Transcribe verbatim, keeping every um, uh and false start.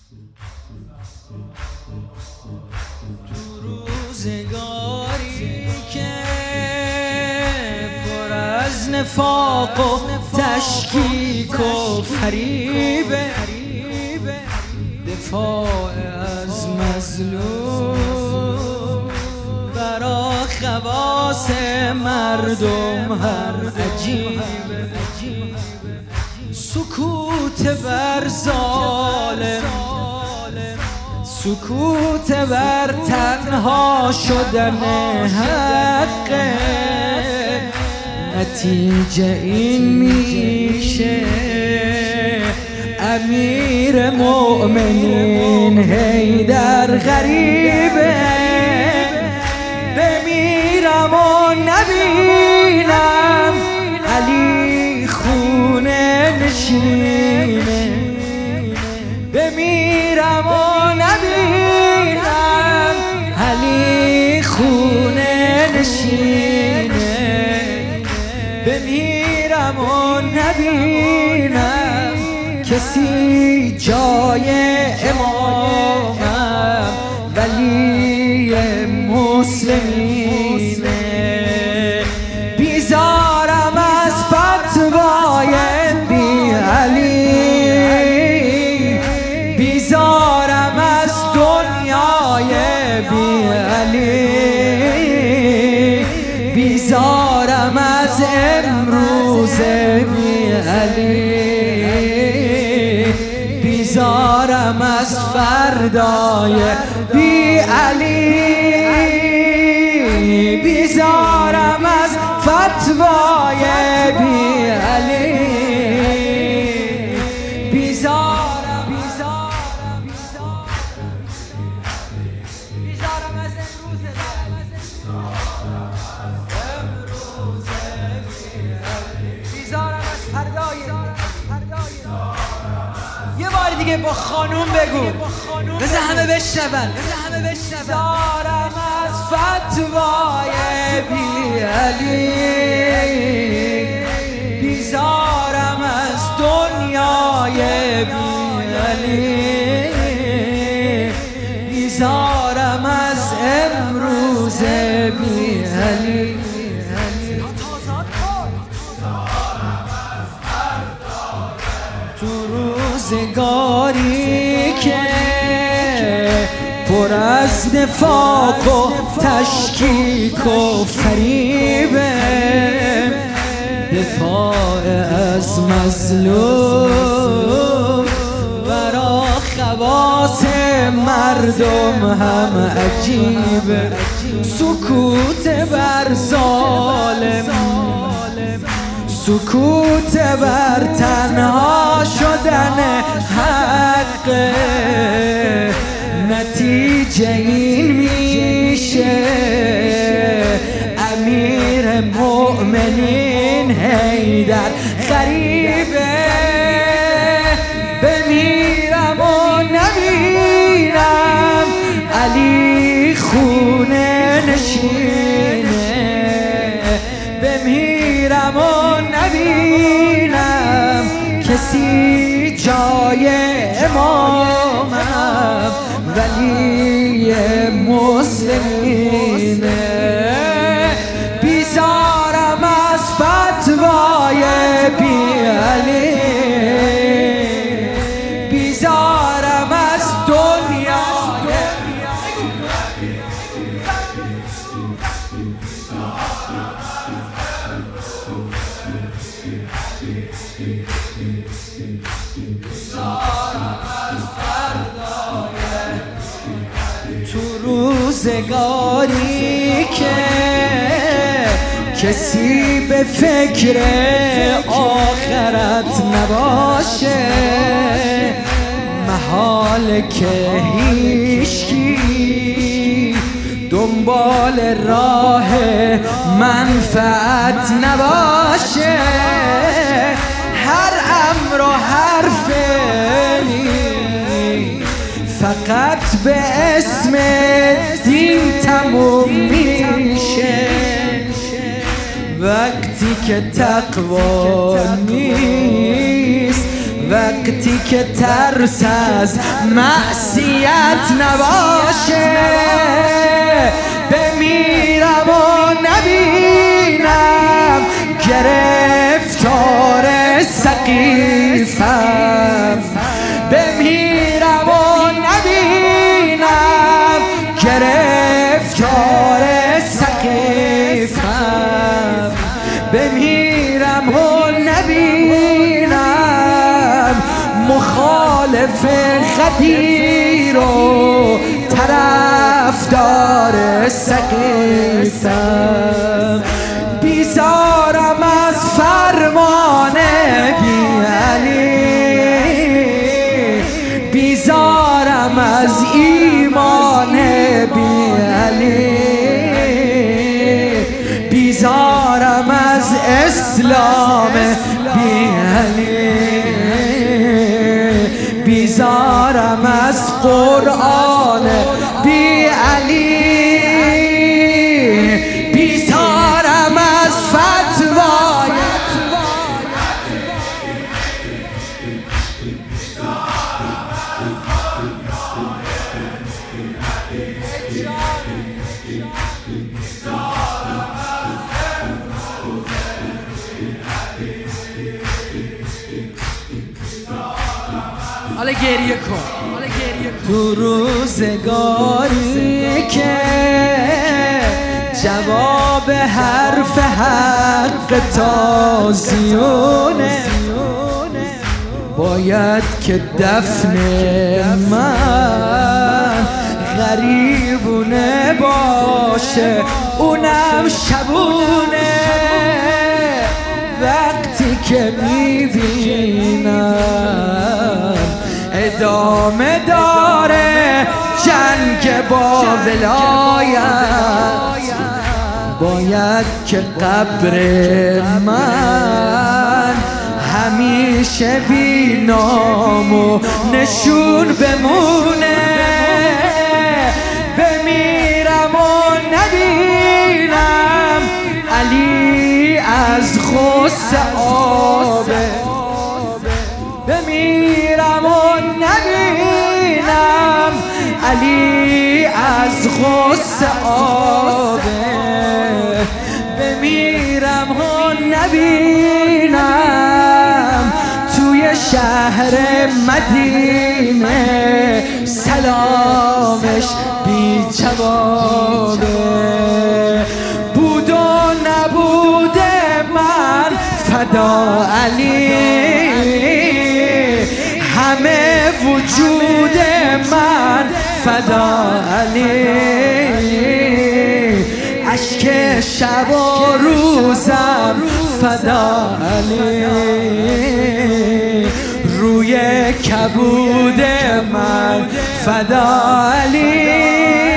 تو روزگاری که پر از نفاق و تشکیک و فریبه، دفاع از مظلوم برا خواص مردم هم عجیبه. سکوت بر ظالم، سکوت بر تنها شدن حق، نتیجه این میشه امیر مؤمنین حیدر غریبه. بمیرم و نبینم علی خونه نشینه، بمیرم و نبینم علی خونه نشینه، بمیرم و نبینم کسی جای امامم ولی مسلمینه. بیزارم از فتوای بی علی، بیزارم از دنیای بی علی، بیزارم از امروز بی علی، بیزارم از فردای بی علی، بیزارم از فتوای بی علی، بیزارم بیزارم بیزارم از امروز بیزارم از فردای. یه بار دیگه با خانوم بگو بذار همه بشنون. بیزارم از فتوای بی علی، بیزارم از دنیای بی علی، بیزارم از امروز بی علی. تو روزگاری که پر از نفاق و تشکیک و فریبه، دفاع از مظلوم برا خواص مردم هم عجیبه. سکوت بر ظالم، سکوت بر تنها شدن حق، نتیجه این میشه امیر مؤمنین حیدر غریبه. بمیرم و نبینم علی خونه نشینه، بمیرم و نبینم کسی جای امامم ولی مسلمینه. بیزارم از فتوای بی علی، بیزارم از دنیای تو روزگاری که کسی به فکر آخرت نباشه، محال که هیچکی دنبال راه منفعت نباشه. هر امر و هر فعلی فقط به اسم دین تموم میشه، وقتی که تقوا نیست، وقتی که ترس از معصیت نباشه، بمیرم و نبینم گرفتار سقیفم، بمیرم و نبینم گرفتار سقیفم، بمیرم و نبینم مخالف غدیر و طرفدار سقیفم، بیزارم از فرمان بی علی، بیزارم از ایمان بی علی، بیزارم از اسلام بی علی، بیزارم از قرآن بی علی، بیزارم از فتوای حالا گریه کن. تو روزگاری که جواب حرف حق تازیونه، باید که دفن من غریبونه باشه، اونم شبونه، وقتی که میبینم ادامه داره جنگ با ولایت، باید که قبر من همیشه بی نام و نشون بمونه، بمیرم و نبینم علی از غصه آبه، بمیرم و نبینم علی از غصه آبه، بمیرم و نبینم توی شهر مدینه سلامش بی جوابه، بود و نبوده من فدا علی، همه وجود من فدا علی، اشک شب و روزم فدا علی، روی کبود من فدا علی.